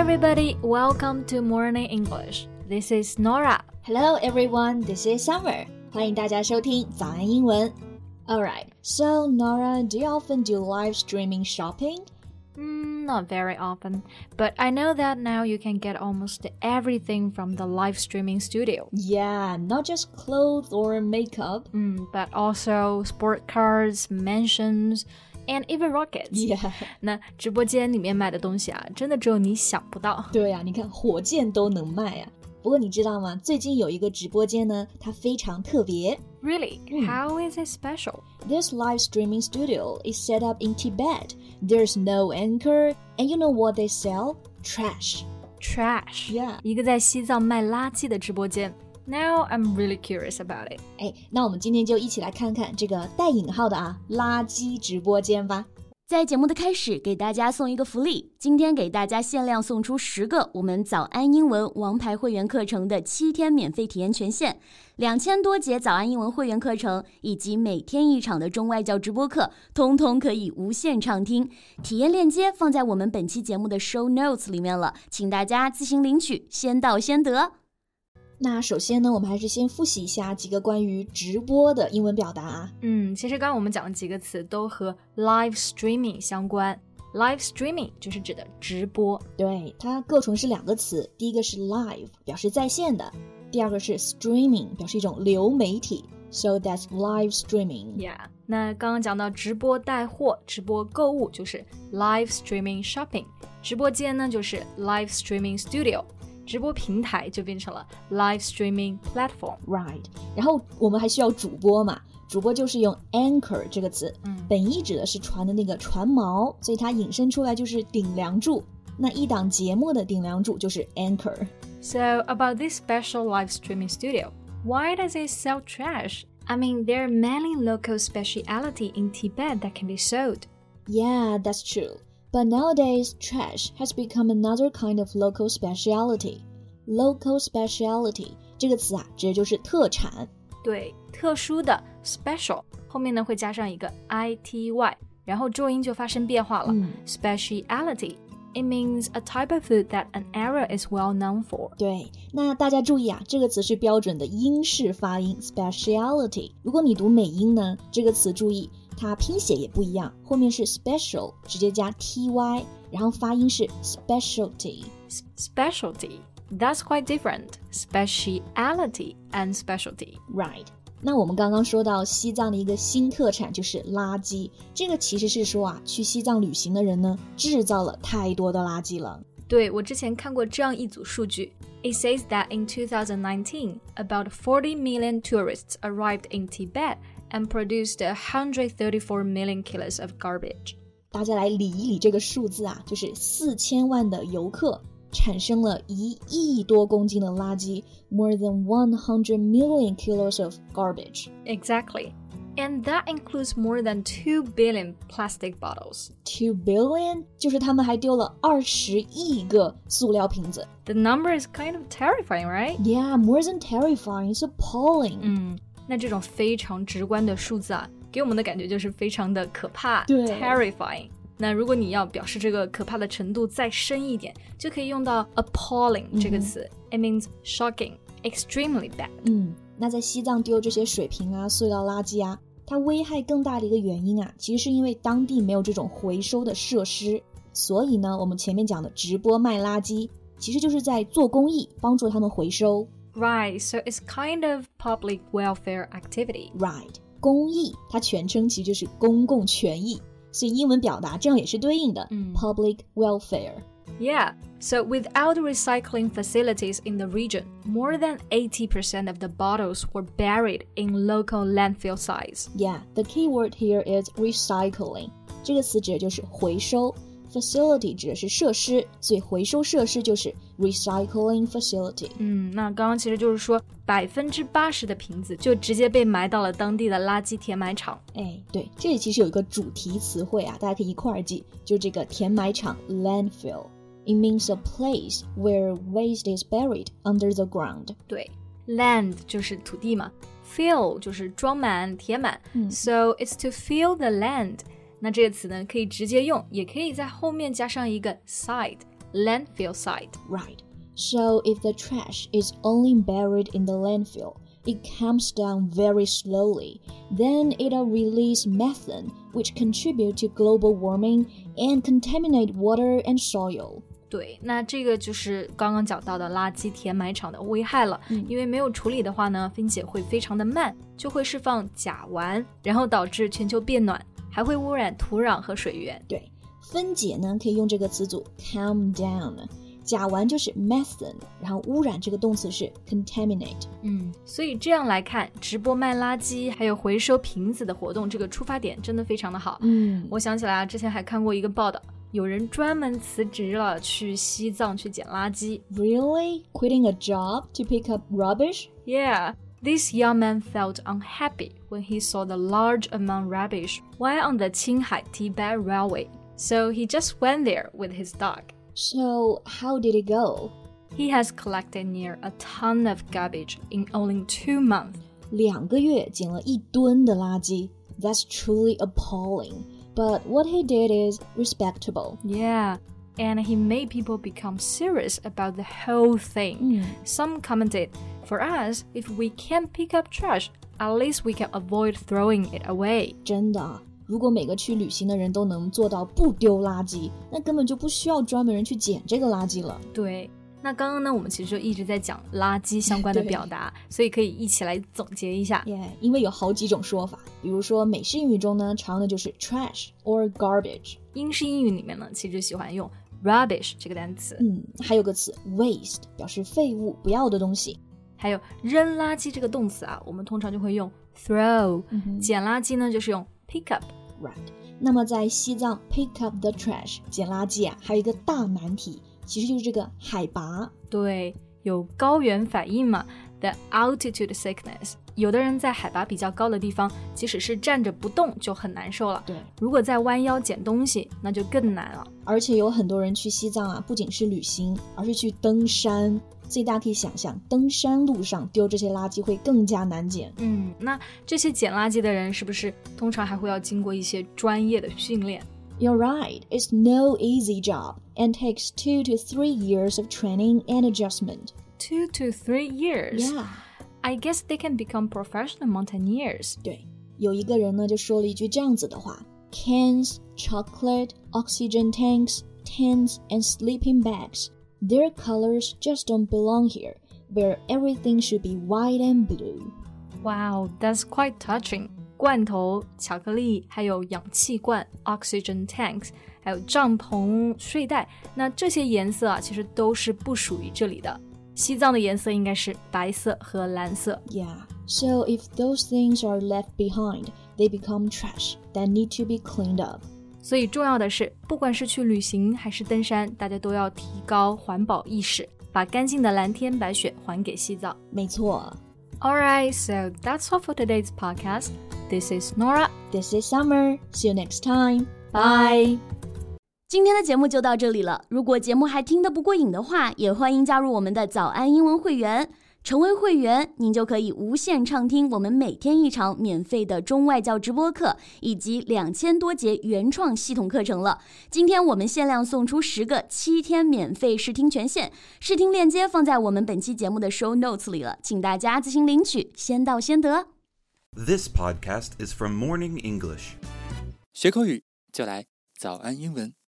everybody, welcome to Morning English. This is Nora. Hello everyone, this is Summer. 欢迎大家收听早安英文。Alright, so Nora, do you often do live streaming shopping? Not very often, but I know that now you can get almost everything from the live streaming studio. Yeah, not just clothes or makeup. But also sport cars, mansions, and even rockets. Yeah. 那直播间里面卖的东西啊，真的只有你想不到。 对啊，你看火箭都能卖啊。不过你知道吗？最近有一个直播间呢，它非常特别。 Really? How is it special? This live streaming studio is set up in Tibet. There's no anchor, and you know what they sell? Trash. Trash. Yeah. 一个在西藏卖垃圾的直播间。Now I'm really curious about it. 那我们今天就一起来看看这个带引号的垃圾直播间吧。 在节目的开始，给大家送一个福利，今天给大家限量送出10个我们早安英文王牌会员课程的7天免费体验权限，2000多节早安英文会员课程以及每天1场的中外教直播课，通通可以无限畅听。体验链接放在我们本期节目的 show notes 里面了，请大家自行领取，先到先得。 那首先呢，我们还是先复习一下几个关于直播的英文表达啊。 其实刚刚我们讲的几个词都和 live streaming 相关。live streaming 就是指的直播。 对，它各纯是2个词，第一个是 live 表示在线的，第二个是 streaming 表示一种流媒体。So that's live streaming. Yeah. 那刚刚讲到直播带货、直播购物就是 live streaming shopping。直播间呢就是 live streaming studio。直播平台就变成了 live streaming platform. Right. 然后我们还需要主播嘛，主播就是用 anchor 这个词，本意指的是船的那个船锚，所以它引申出来就是顶梁柱。那一档节目的顶梁柱就是 anchor. So about this special live streaming studio, why does it sell trash? I mean, there are many local speciality in Tibet that can be sold. Yeah, that's true.But nowadays, trash has become another kind of local speciality. Local speciality 这个词指的就是特产。 对，特殊的 special 后面呢会加上一个 ity， 然后重音就发生变化了。Speciality, it means a type of food that an area is well known for. 对，那大家注意这个词是标准的英式发音 speciality。如果你读美音呢，这个词注意。它拼写也不一样，后面是 special 直接加 ty， 然后发音是 specialty. Specialty, that's quite different. Speciality and specialty. Right. 那我们刚刚说到西藏的一个新特产就是垃圾，这个其实是说去西藏旅行的人呢制造了太多的垃圾了。 对，我之前看过这样一组数据。It says that in 2019, about 40 million tourists arrived in Tibet.and produced 134 million kilos of garbage. 大家来理一理这个数字就是4000万的游客产生了1亿多公斤的垃圾 more than 100 million kilos of garbage. Exactly. And that includes more than 2 billion plastic bottles. 2 billion? 就是他们还丢了20亿个塑料瓶子。 The number is kind of terrifying, right? Yeah, more than terrifying. It's appalling. 那这种非常直观的数字给我们的感觉就是非常的可怕 terrifying。 那如果你要表示这个可怕的程度再深一点，就可以用到 appalling 这个词。It means shocking, extremely bad. 那在西藏丢这些水瓶塑料垃圾它危害更大的一个原因其实是因为当地没有这种回收的设施。所以呢，我们前面讲的直播卖垃圾其实就是在做公益，帮助他们回收。 Right, so it's kind of public welfare activity. Right, 公益它全称其实就是公共权益，所以英文表达这样也是对应的public welfare. Yeah, so without recycling facilities in the region, more than 80% of the bottles were buried in local landfill sites. Yeah, the key word here is recycling. 这个词指的就是回收。Facility 指的是设施，所以回收设施就是 recycling facility. 那刚刚其实就是说80%的瓶子就直接被埋到了当地的垃圾填埋场。 对，这里其实有一个主题词汇大家可以一块儿记，就这个填埋场 landfill. It means a place where waste is buried under the ground. 对， land 就是土地嘛， fill 就是装满填满，so it's to fill the land. 那这个词呢可以直接用，也可以在后面加上一个 site landfill site. Right. So if the trash is only buried in the landfill, it comes down very slowly. Then it'll release methane, which contribute to global warming and contaminate water and soil. 对，那这个就是刚刚讲到的垃圾填埋场的危害了。因为没有处理的话呢，分解会非常的慢，就会释放甲烷，然后导致全球变暖，还会污染土壤和水源。 对，分解呢可以用这个词组 calm down。甲烷就是 methane， 然后污染这个动词是 contaminate。 所以这样来看，直播卖垃圾还有回收瓶子的活动，这个出发点真的非常的好。我想起来啊，之前还看过一个报道，有人专门辞职了，去西藏去捡垃圾。 Really? Quitting a job to pick up rubbish? Yeah. This young man felt unhappy when he saw the large amount of rubbish while on the Qinghai Tibet Railway. So he just went there with his dog.So, how did it go? He has collected near a ton of garbage in only 2 months. 2个月捡了1吨的垃圾。That's truly appalling. But what he did is respectable. Yeah, and he made people become serious about the whole thing. Some commented, for us, if we can't pick up trash, at least we can avoid throwing it away. 真的如果每个去旅行的人都能做到不丢垃圾，那根本就不需要专门人去捡这个垃圾了。 对，那刚刚呢，我们其实就一直在讲垃圾相关的表达，所以可以一起来总结一下。 因为有好几种说法，比如说美式英语中呢，常用的就是 trash or garbage。 英式英语里面呢，其实喜欢用 rubbish 这个单词。 还有个词 waste， 表示废物、不要的东西。 还有扔垃圾这个动词啊，我们通常就会用 throw。捡垃圾呢，就是用pick up。Right. 那么在西藏 pick up the trash 捡垃圾啊，还有一个大难题，其实就是这个海拔。 对，有高原反应嘛 ，the altitude sickness。有的人在海拔比较高的地方，即使是站着不动就很难受了。 对， 如果在弯腰捡东西，那就更难了。 而且有很多人去西藏啊，不仅是旅行，而是去登山。所以大家可以想象，登山路上丢这些垃圾会更加难捡。 那这些捡垃圾的人是不是通常还会要经过一些专业的训练？ You're right. It's no easy job and takes 2 to 3 years of training and adjustment. 2 to 3 years? Yeah. I guess they can become professional mountaineers. 对，有一个人呢就说了一句这样子的话 ：Cans, chocolate, oxygen tanks, tents, and sleeping bags.Their colors just don't belong here, where everything should be white and blue. Wow, that's quite touching. 罐头、巧克力，还有氧气罐 oxygen tanks， 还有帐篷、睡袋，那这些颜色啊，其实都是不属于这里的。西藏的颜色应该是白色和蓝色。 Yeah, so if those things are left behind, they become trash that need to be cleaned up. 所以重要的是，不管是去旅行还是登山，大家都要提高环保意识，把干净的蓝天白雪还给西藏。 没错。 Alright, so that's all for today's podcast. This is Nora. This is Summer. See you next time. Bye. 今天的节目就到这里了。如果节目还听得不过瘾的话，也欢迎加入我们的早安英文会员。成为会员，您就可以无限畅听我们每天一场免费的中外教直播课，以及2000多节原创系统课程了。今天我们限量送出10个7天免费试听权限，试听链接放在我们本期节目的 show notes 里了，请大家自行领取，先到先得。 This podcast is from Morning English. 学口语就来早安英文。